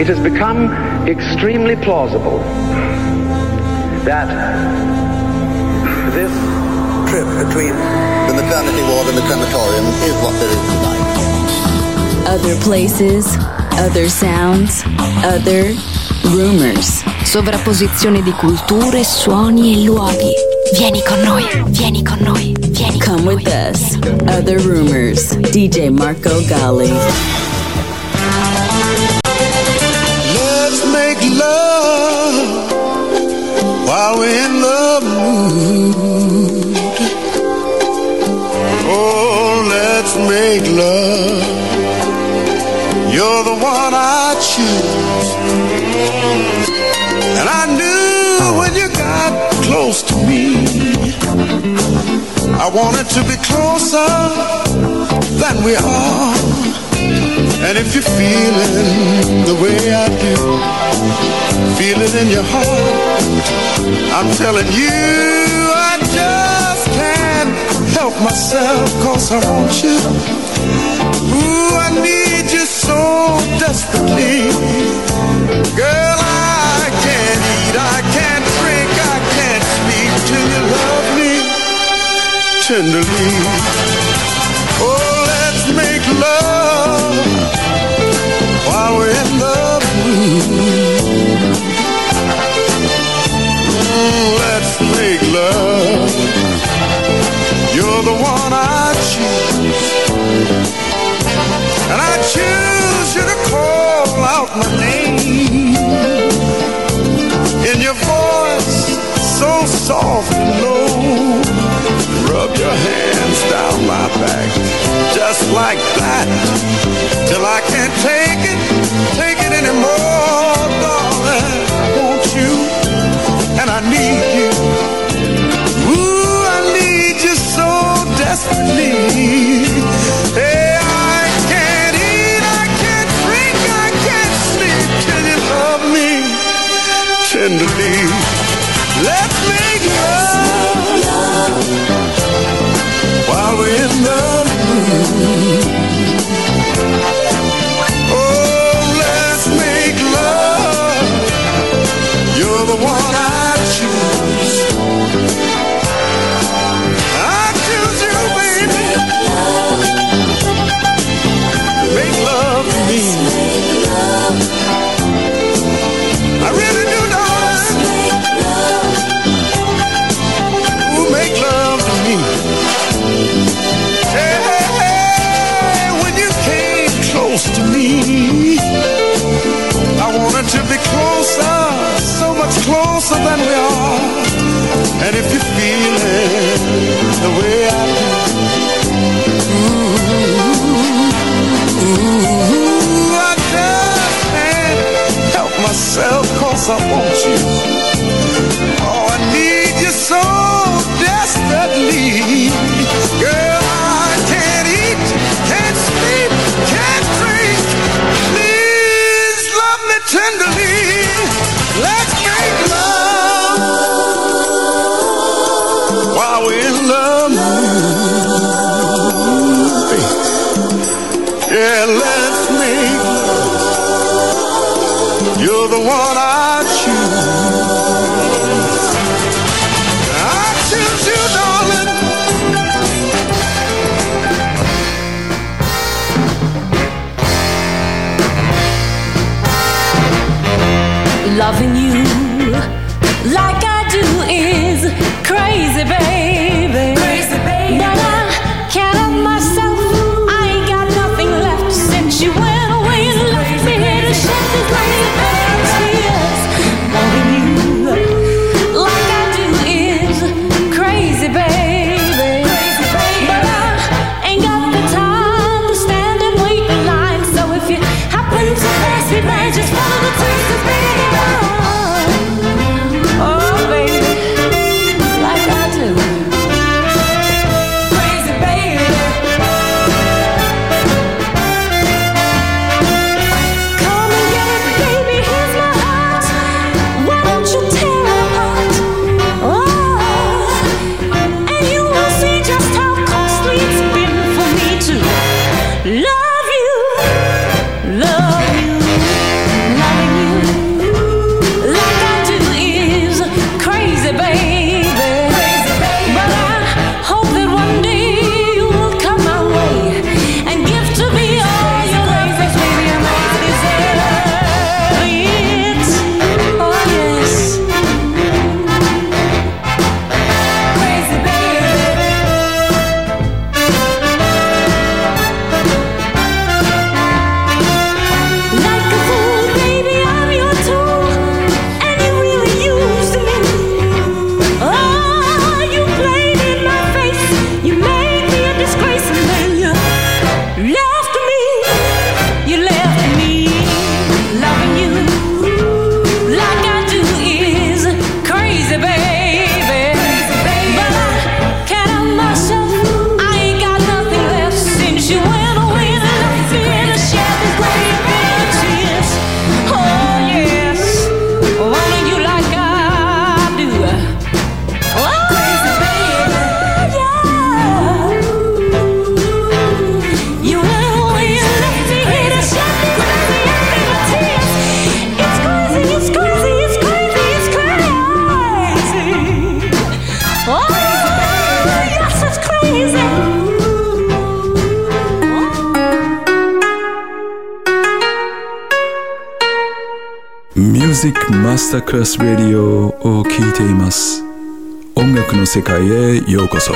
it has become extremely plausible that this trip between the maternity ward and the crematorium is what there is tonight. Other places, other sounds, other rumors. Sovrapposizione di culture, suoni e luoghi. Vieni con noi, vieni con noi, vieni con noi. Come with us. Other rumors. DJ Marco Gally. Let's make love while we're in the mood. Oh, let's make love. You're the one I choose. And I knew when you got close to me, I wanted to be closer than we are. And if you're feeling the way I do, feel it in your heart, I'm telling you, I just can't help myself, 'cause I want you. Ooh, I need you so desperately. Girl, I can't eat, I can't drink, I can't sleep till you love me tenderly. Oh, let's make love while we're in the mood. Let's make love. You're the one I choose. And I choose you to call out my name. In your voice, so soft and low, rub your hands down my back, just like that, till I can't take it anymore, darling. I want you, and I need you. Ooh, I need you so desperately. Hey, I can't eat, I can't drink, I can't sleep till you love me tenderly. Let's make love while we're in the mood. Oh, let's make love. You're the one I choose. I choose you, baby. Make love to me. I really do, darling. Ooh, make love to me. Hey, hey, hey, when you came close to me, I wanted to be closer, so much closer than we are. And if you're feeling the way I do, ooh, I just can't help myself, 'cause I want you. Oh, I need you so desperately. Girl, I can't eat, can't sleep, can't drink. Please love me tenderly. Let's make love while we're in the mood. Yeah, let's make love. You're the one I choose. I choose you, darling. マスタークラスラディオを聴いています。音楽の世界へようこそ。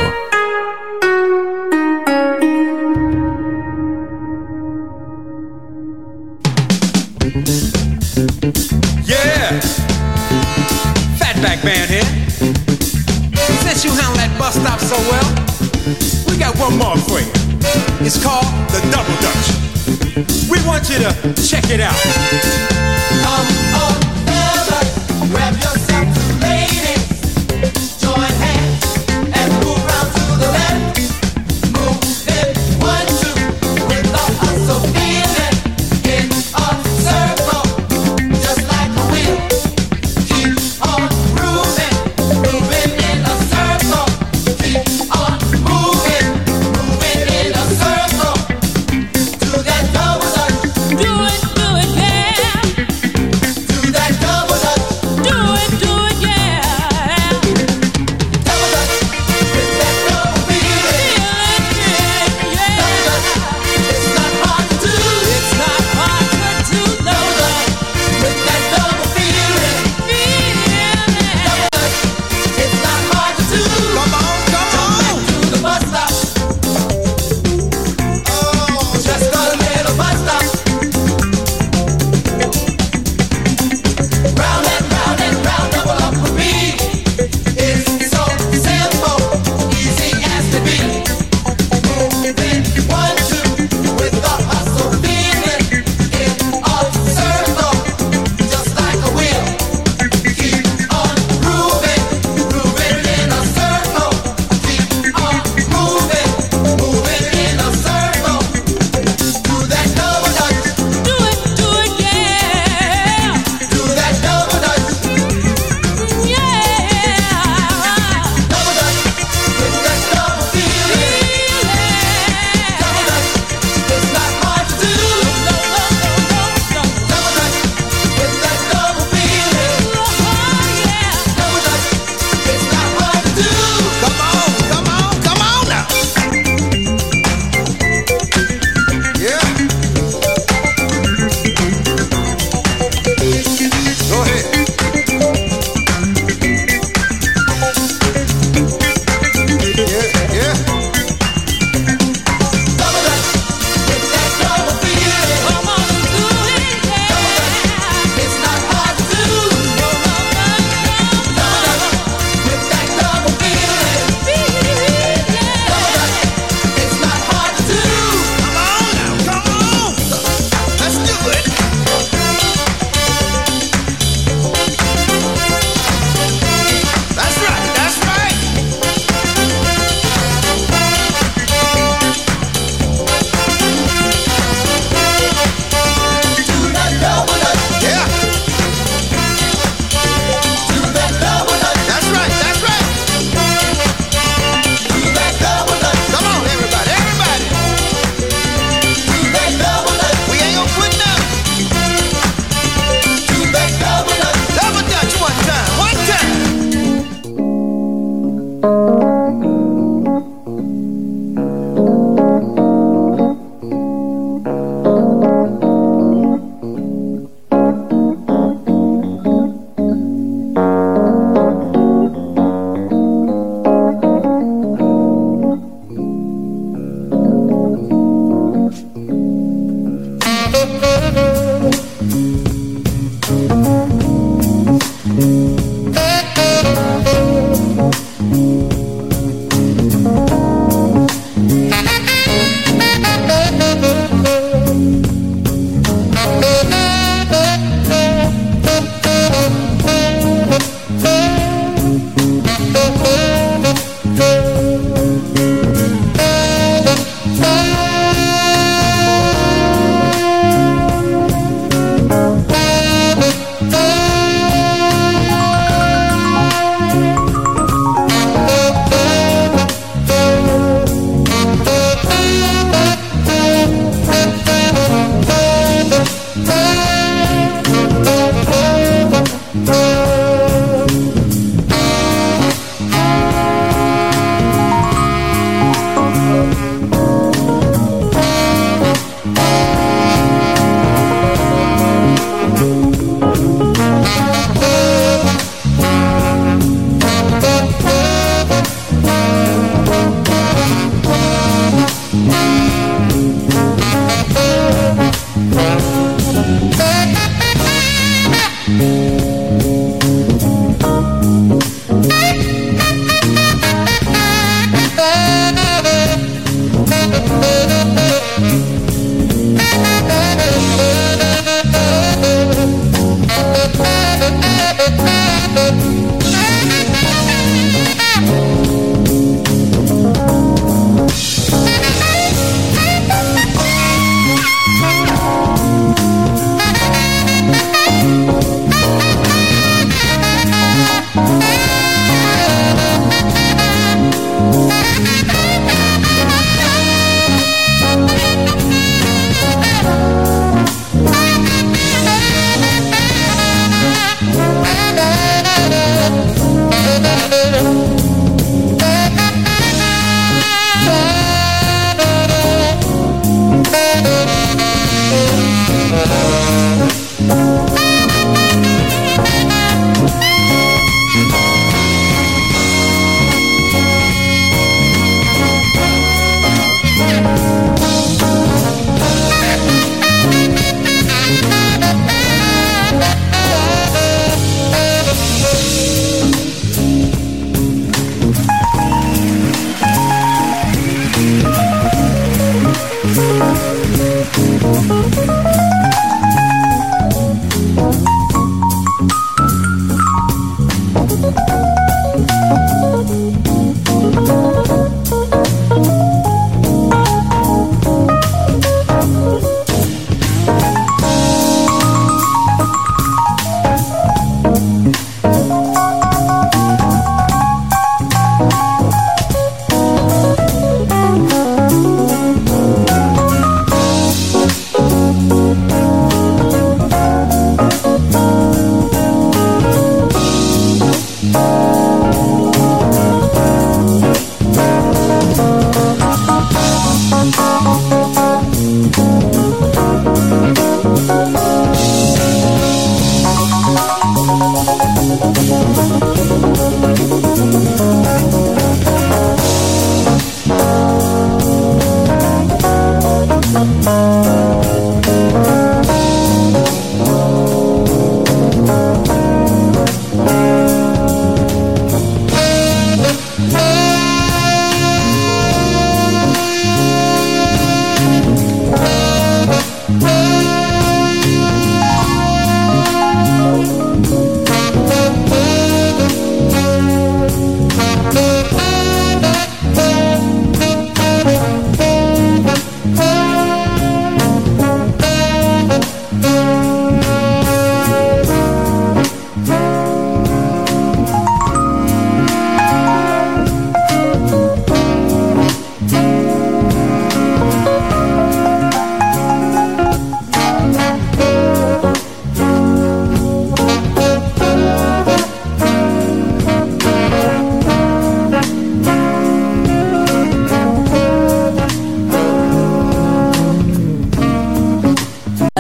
Yeah! Fatback Man here. Since you handle that bus stop so well, we got one more for you. It's called the Double Dutch. We want you to check it out. Come on, fellas, grab yourself two ladies, join hands and move round to the left. Move in 1, 2 with the hustle feeling in a circle, just like a wheel. Keep on moving, moving in a circle. Keep on moving, moving in a circle to that double dutch. Do it, yeah.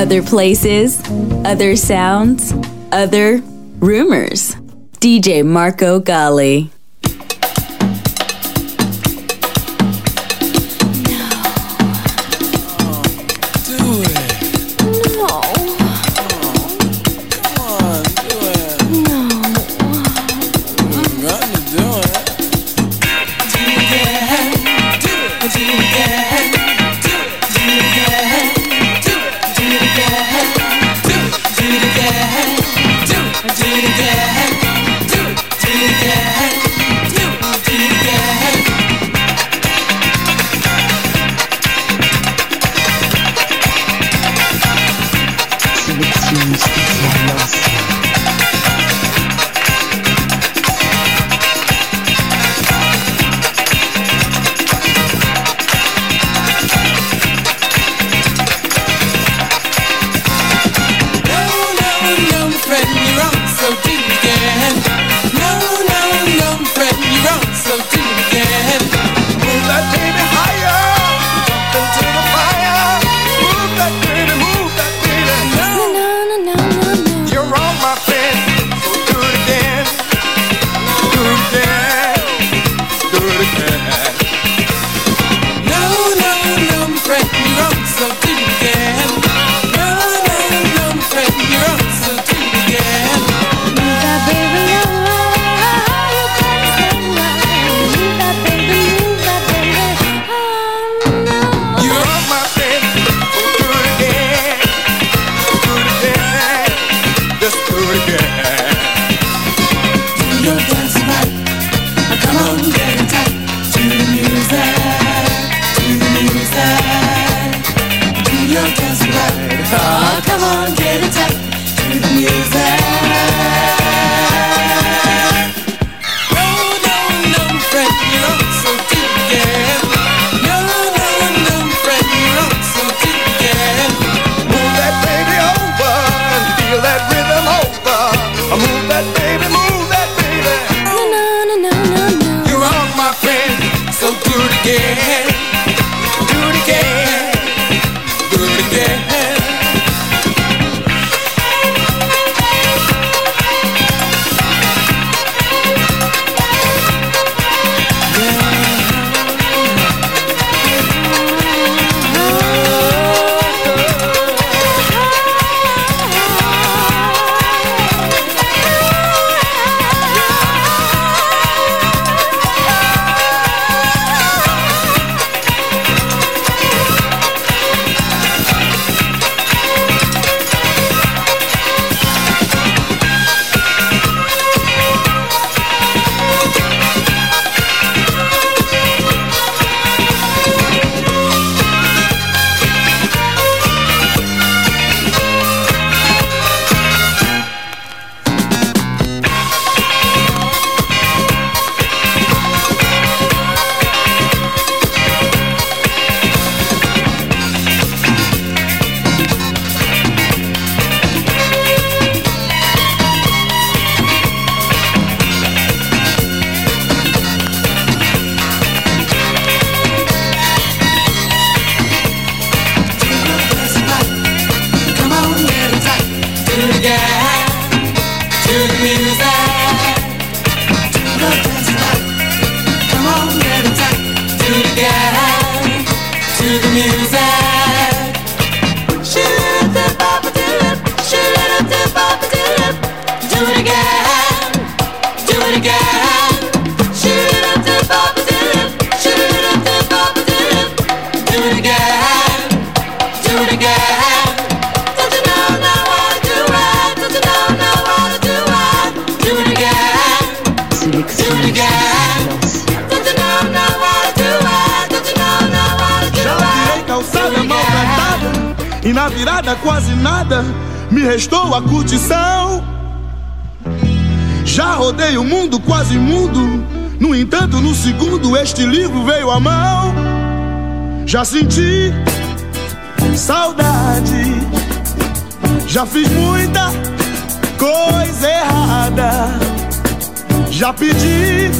Other places, other sounds, other rumors. DJ Marco Gally. E na virada quase nada me restou a curtição. Já rodei o mundo quase imundo, no entanto no segundo este livro veio à mão. Já senti saudade, já fiz muita coisa errada, já pedi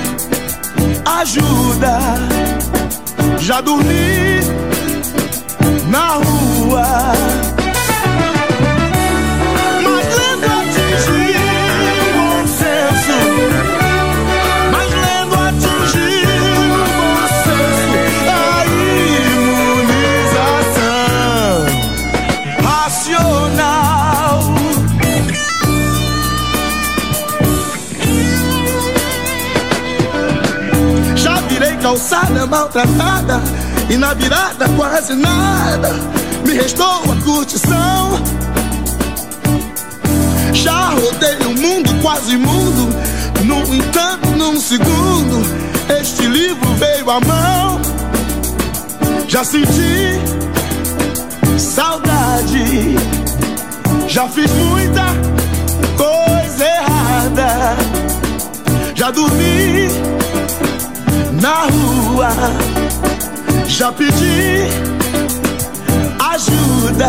ajuda, já dormi na rua. olha maltratada, e na virada quase nada me restou a curtição. Já rodei o mundo quase imundo, no entanto num segundo este livro veio à mão. Já senti saudade, já fiz muita coisa errada, já dormi na rua, já pedi ajuda,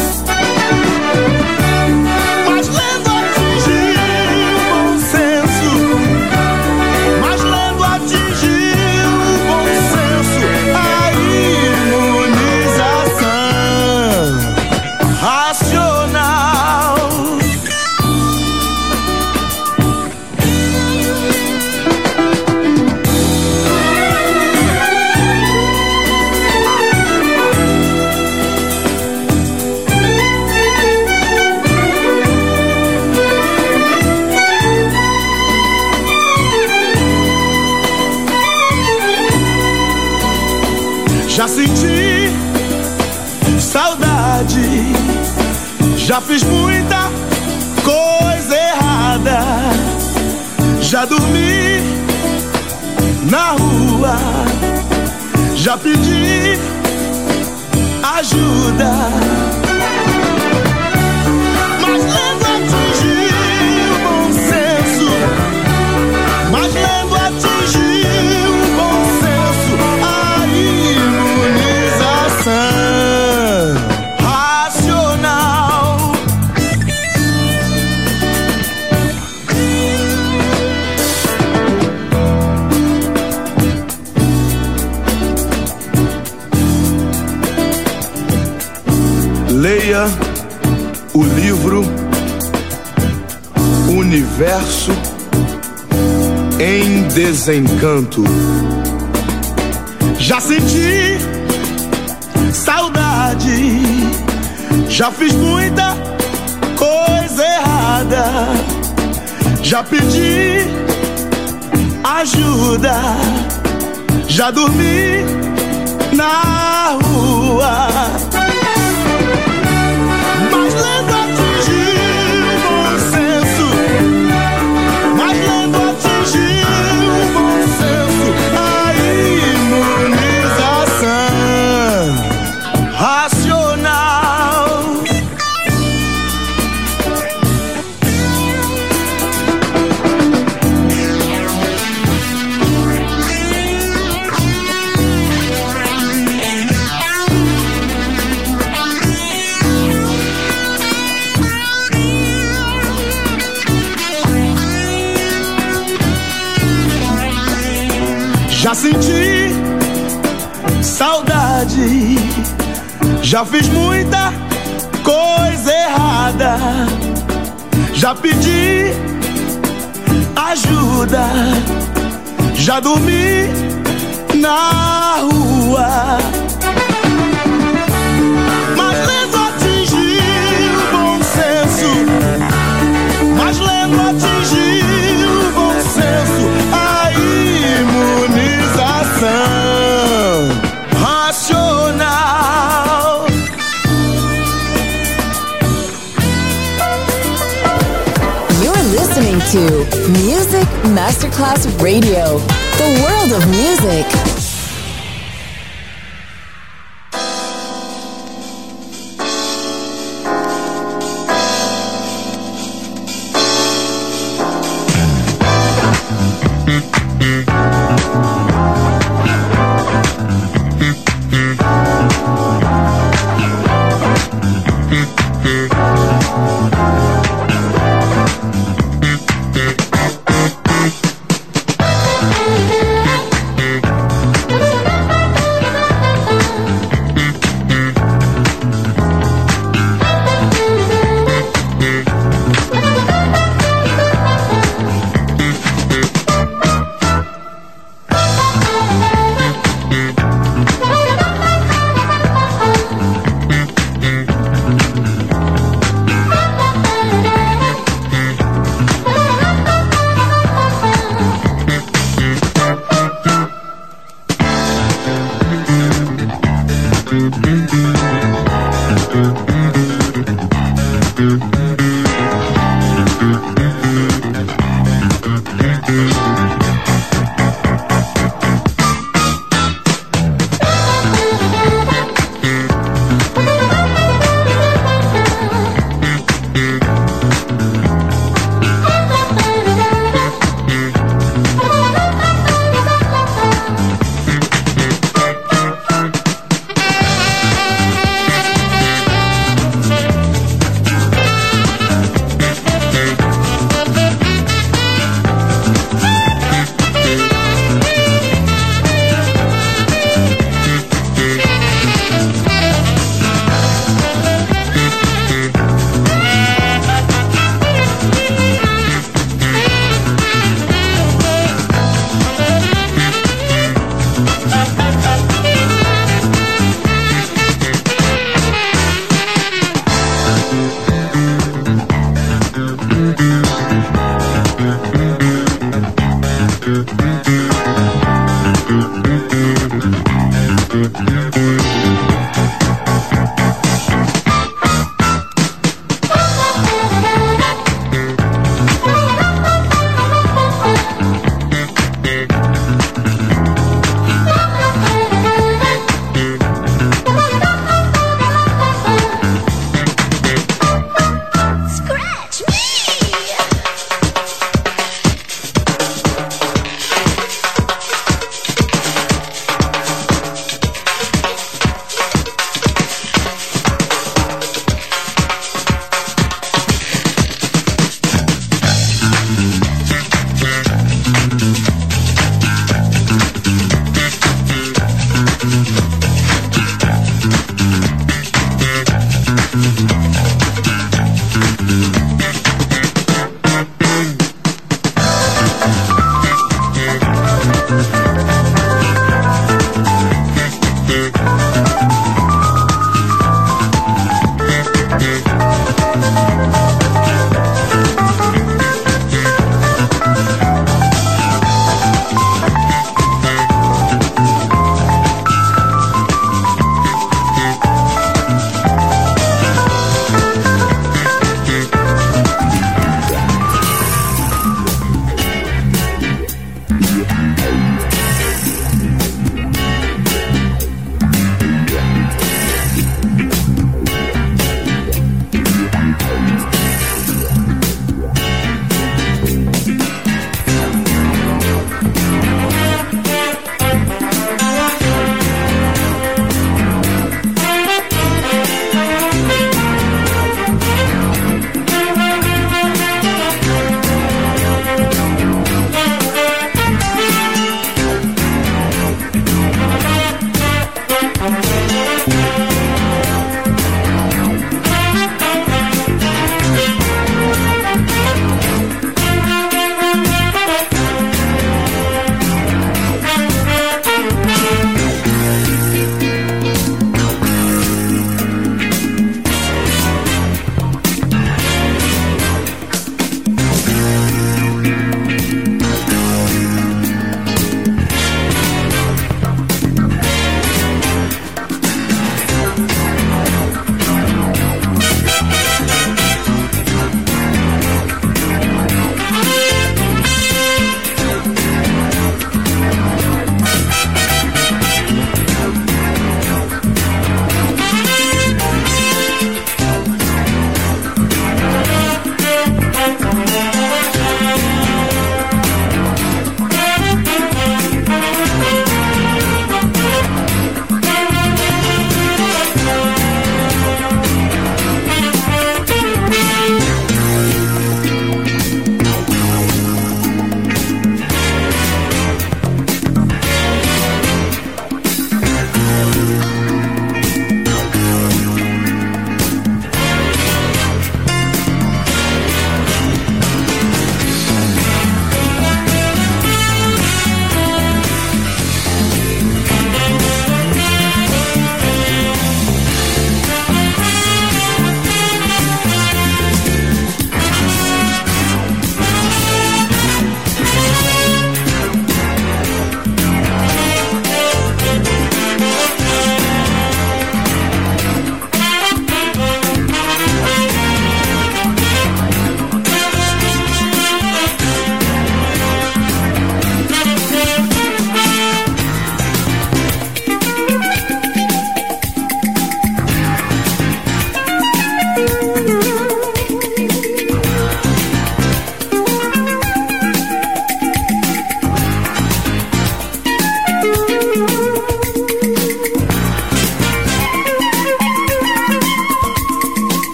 mas lendo atingi o bom senso, mas lendo atingi o bom senso, a imunização racional. Já senti saudade, já fiz muita coisa errada, já dormi na rua, já pedi ajuda, mas lendo atingi o bom senso, mas lendo atingi o bom senso, a imunização racional. Leia o livro Universo em Desencanto. Já senti saudade, já fiz muita coisa errada, já pedi ajuda, já dormi na rua, mas lendo atingi o bom senso, mas lendo atingi o bom senso, a imunização racional. Já senti saudade, já fiz muita coisa errada, já pedi ajuda, já dormi na rua, mas lendo atingi o bom senso, mas lendo atingi o bom senso, a imunização racional. You're listening to Music Masterclass Radio, the world of music.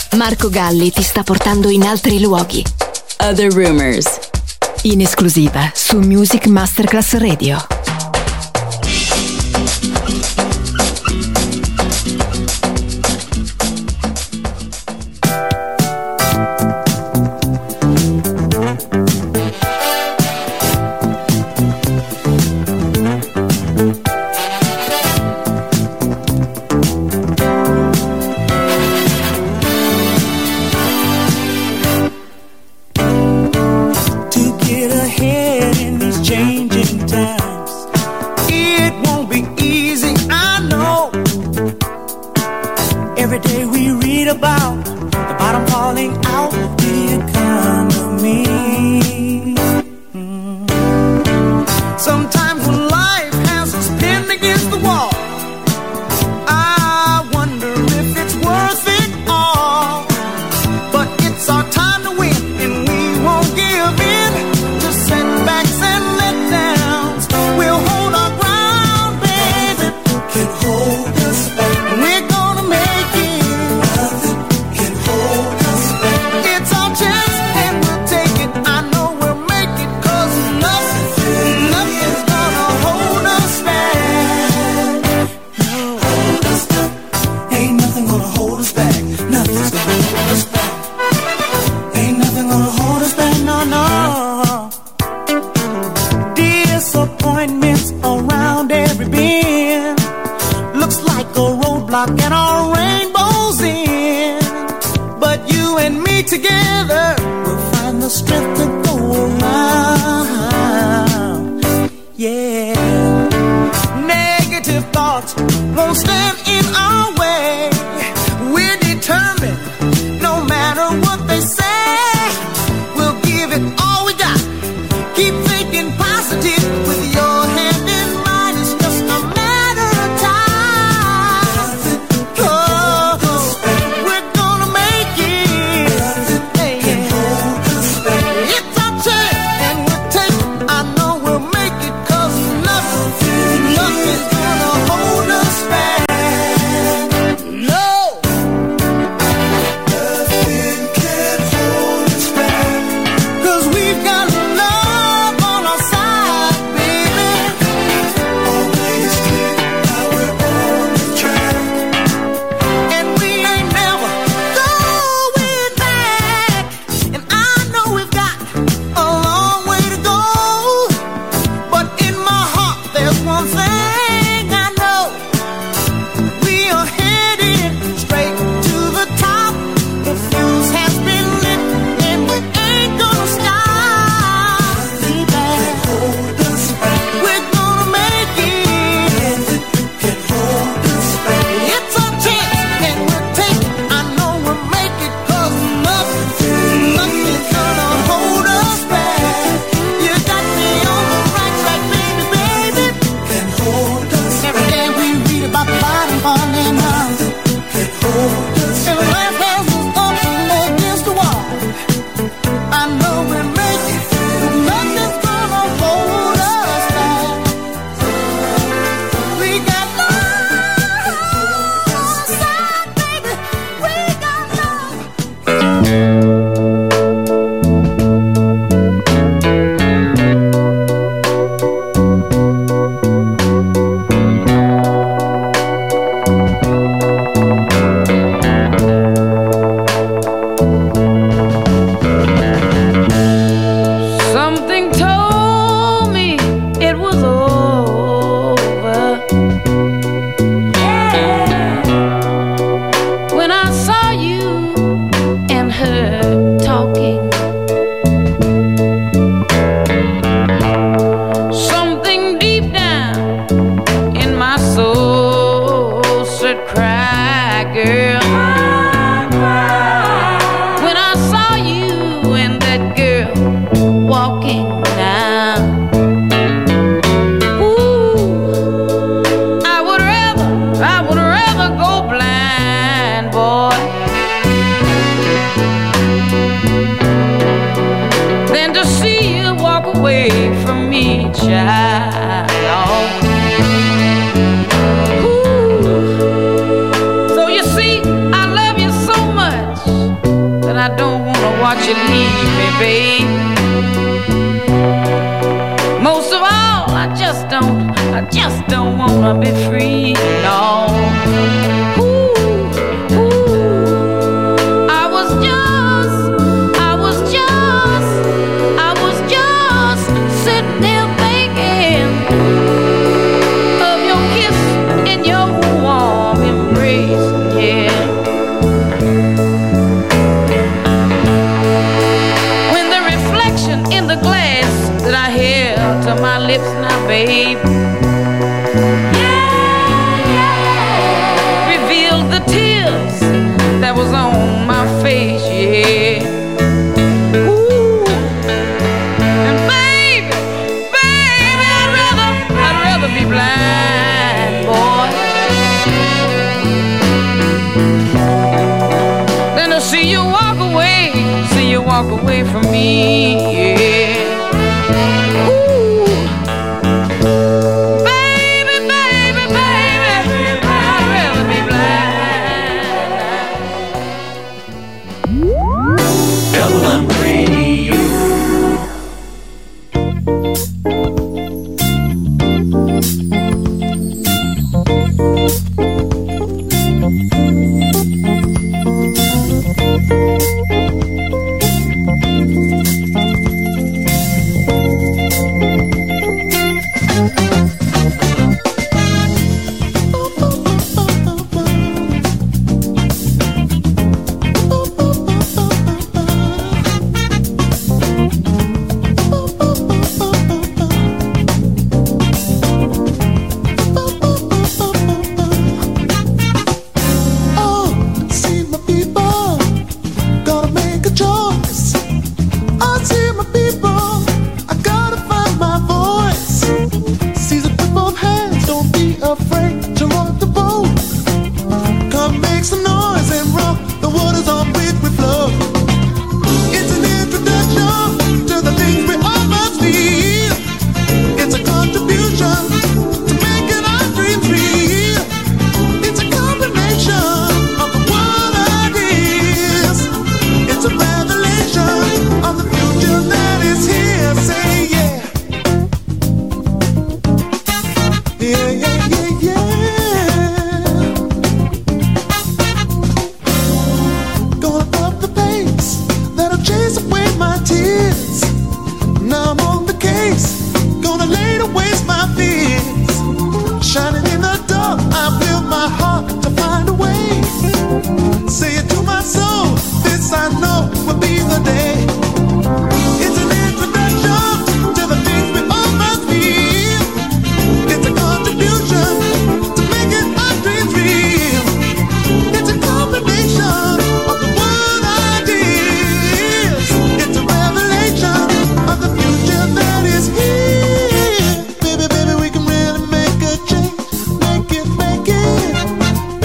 Marco Galli ti sta portando in altri luoghi. Other Rumors. In esclusiva su Music Masterclass Radio. Ooh. So you see, I love you so much. watch you leave me, babe. Most of all, I just don't wanna be free, no. I was just sitting there thinking of your kiss and your warm embrace, yeah. When the reflection in the glass that I held to my lips now, babe, revealed the tears that was on my face, yeah. Ooh. And baby, I'd rather be blind, boy, than to see you walk away from me, yeah. Ooh. Baby, I'd rather be blind. Double Radio.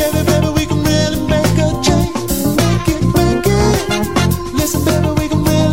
Listen, baby, we can really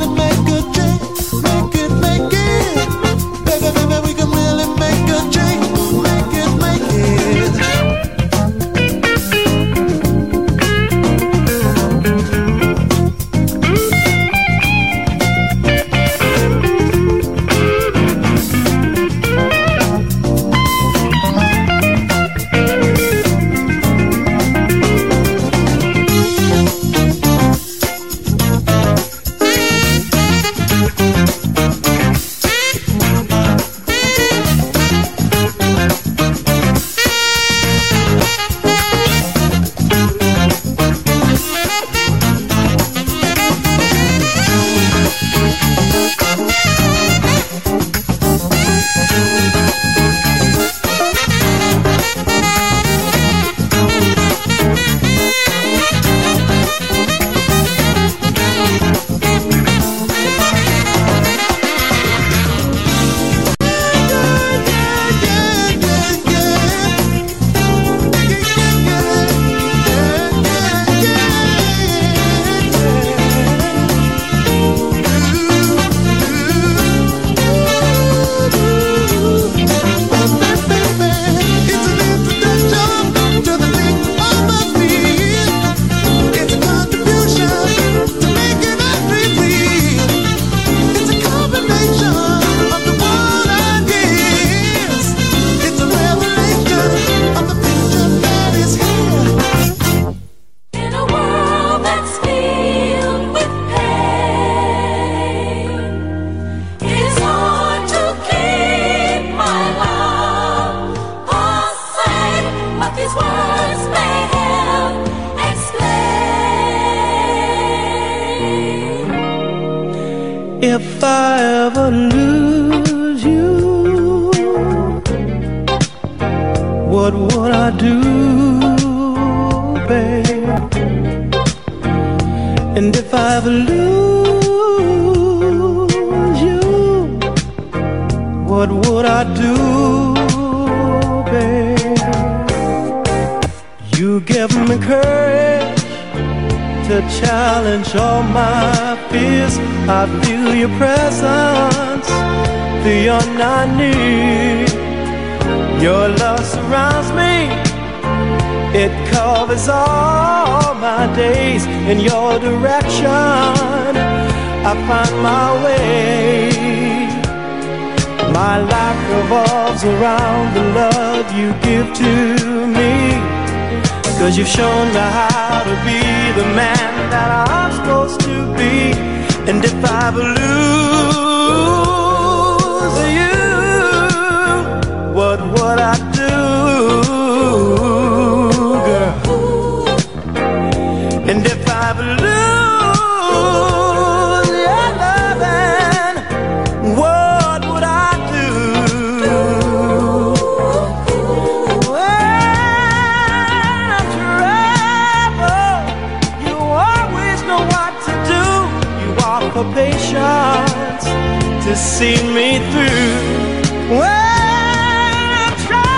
If I ever lose you, what would I do, babe? And if I ever lose you, what would I do, babe? You give me courage to challenge all my fears. I feel your presence beyond I need. Your love surrounds me, it covers all my days. In your direction I find my way. My life revolves around the love you give to me, 'cause you've shown me how to be the man that I'm supposed to be. And if I ever lose you, what would I do, girl? And if I ever lose your loving, what would I do? When I'm troubled, you always know what to do. You offer patience to see me through. When I'm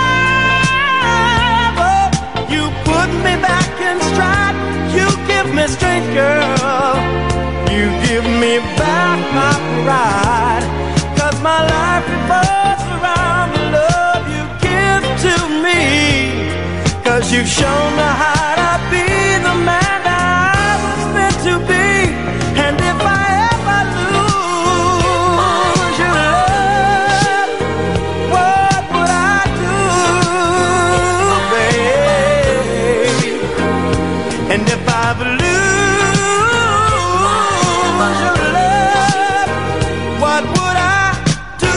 troubled, you put me back in stride. You give me strength, girl. You give me back my pride. 'Cause my life revolves around the love you give to me. 'Cause you've shown me how to be the man that I was meant to be. And if I ever lose your love, what would I do, babe? And if I ever lose your love, what would I do,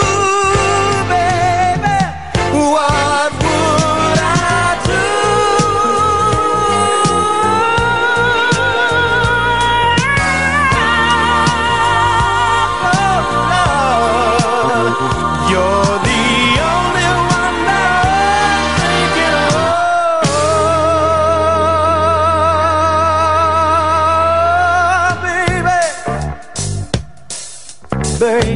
baby? What would I do? You're the only one that I'm thinking of, baby.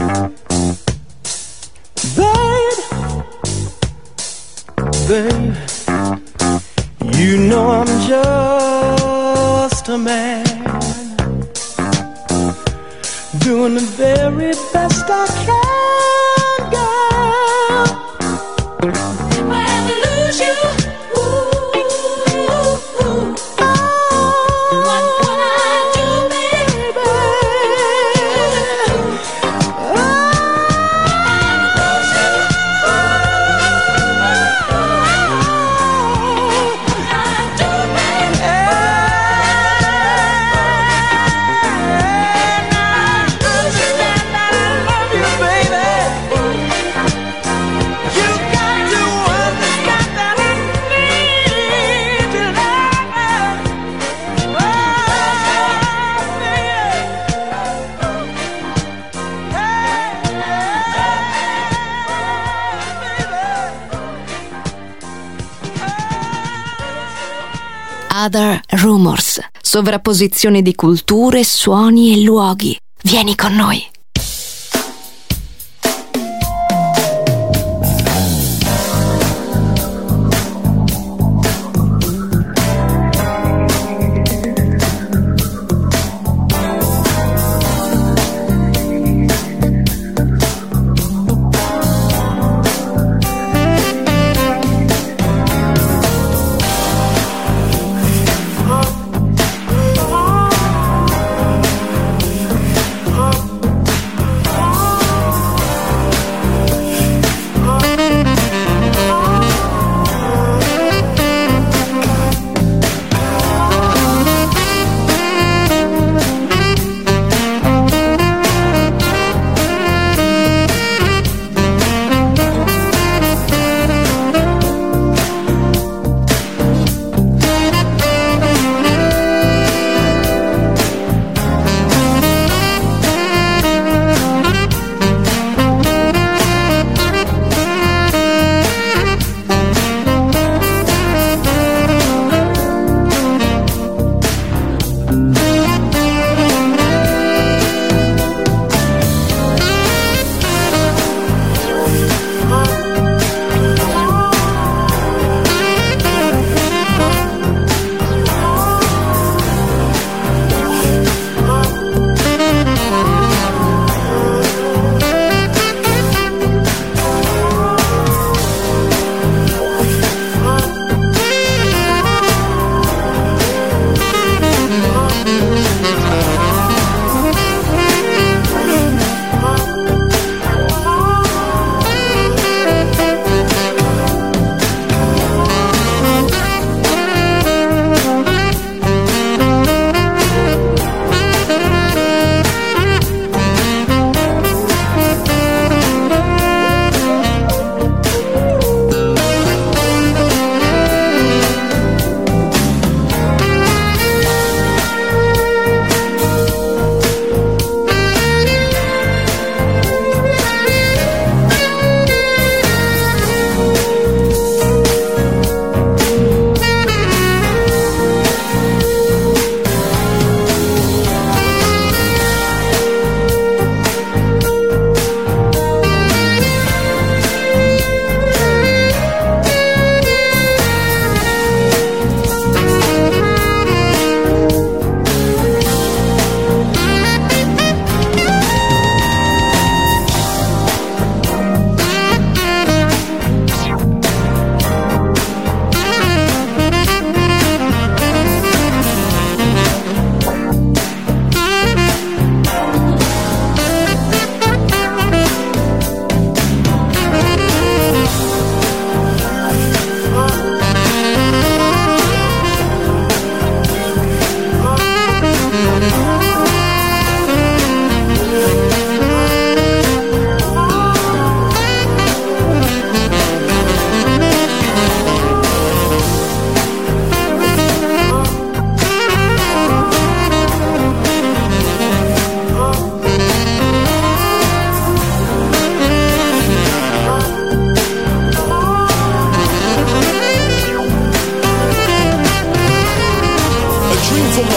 Babe, you know I'm just a man, doing the very best I can, girl. If I ever lose you, what would I do, baby? Other Rumors, sovrapposizione di culture, suoni e luoghi. Vieni con noi.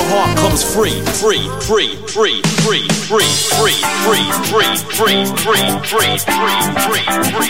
the heart comes free, free, free, free, free, free, free, free, free, free, free, free, free, free,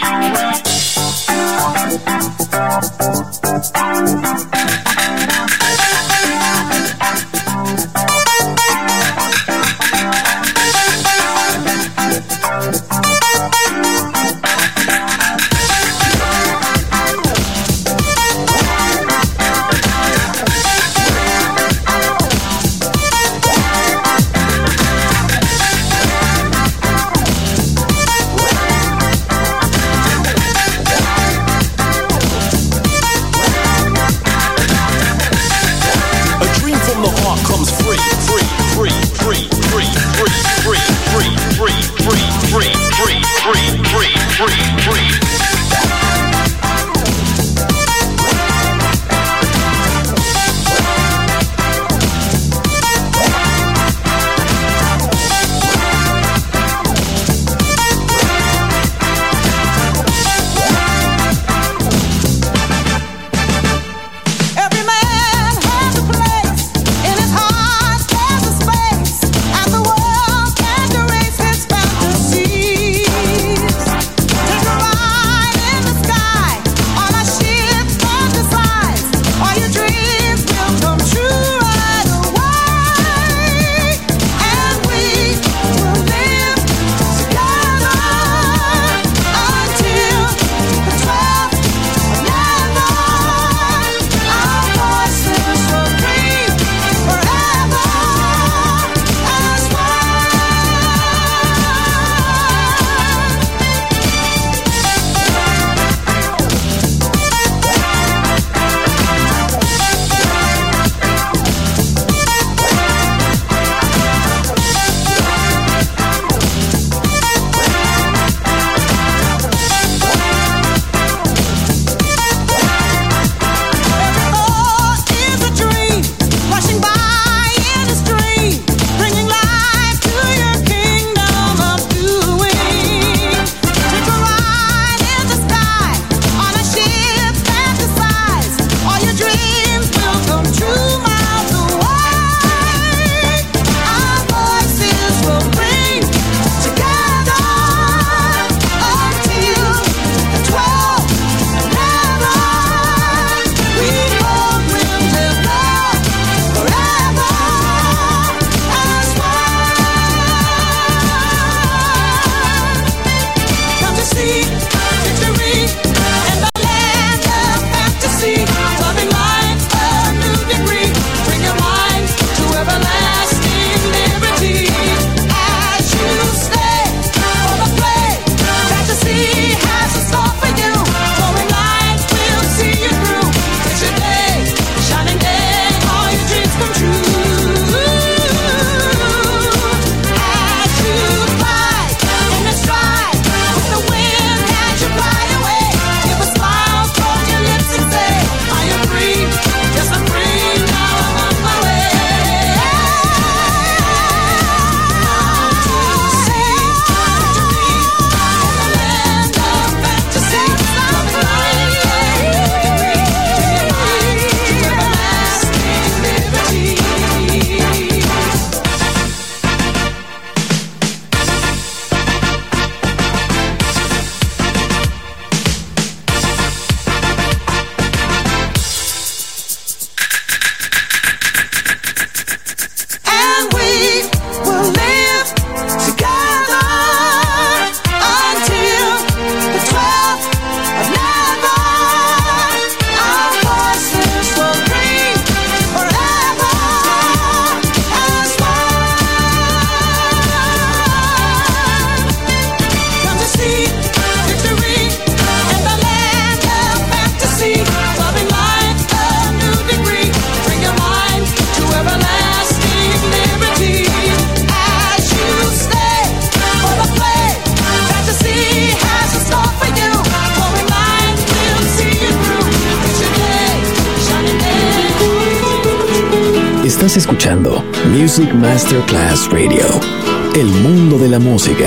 Estás escuchando Music Masterclass Radio, el mundo de la música.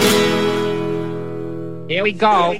Here we go.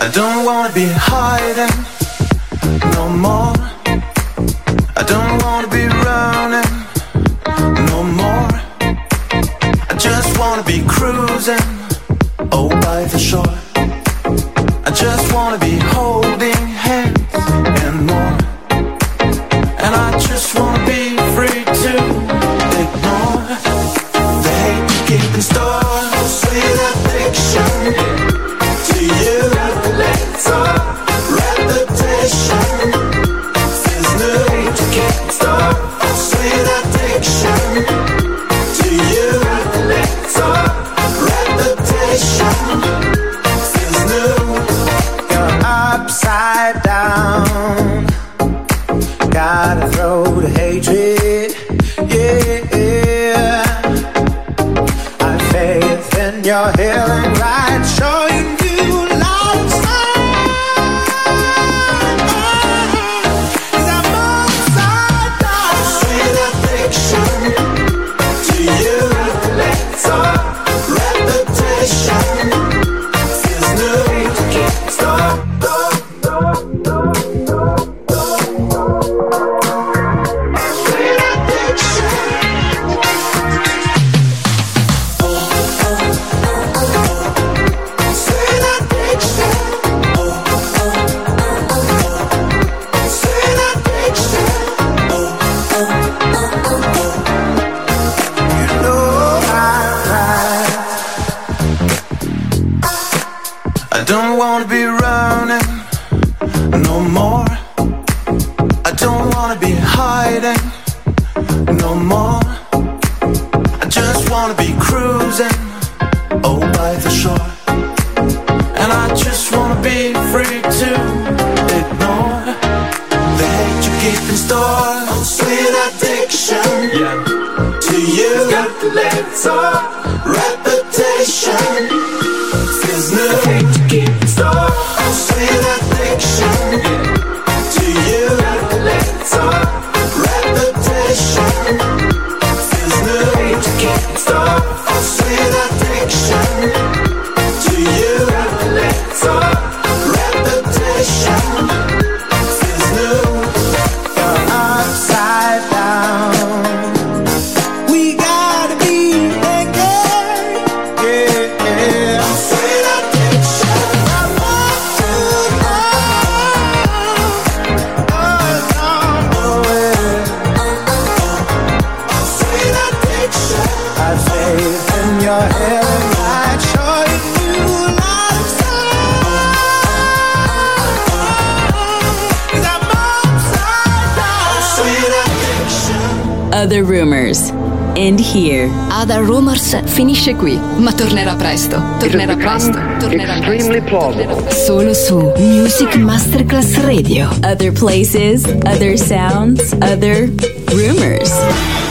I don't wanna be hiding no more. I don't wanna be running no more. I just wanna be cruising, oh, by the shore. I just wanna be holding hands and more. And I just wanna be free to ignore the hate you keep in store. Sweet addiction to you. Let's all reputation is new to keep in store. Sweet addiction to you. Let's all reputation is new. You're upside down. Gotta throw the hatred, yeah. I have faith in your healing right, showing you light signs. 'Cause I'm upside down. Sweet addiction to you. Let's all reputation is new to keep stop. I don't wanna be running no more. I don't wanna be hiding no more. I just wanna be cruising, oh, by the shore. And I just wanna be free to ignore the hate you keep in store. Oh, sweet addiction, yeah, to you. Got to let it all reputation is new. The hate you keep in store. Oh, sweet addiction, yeah, to you. Got to let it all reputation is new. The hate you keep in store. Oh, sweet addiction to you. Got to let it all reputation is new. You're upside down. We gotta be naked, yeah. Sweet addiction. I want to know it. Sweet addiction. I have faith in your healing light, showing you light of sight. 'Cause I'm upside down. Sweet addiction. Other Rumors. End here. Other Rumors finisce qui, ma tornerà presto. Tornerà presto. Tornerà Extremely presto. plausible. Solo su Music Masterclass Radio. Other places, other sounds, other rumors.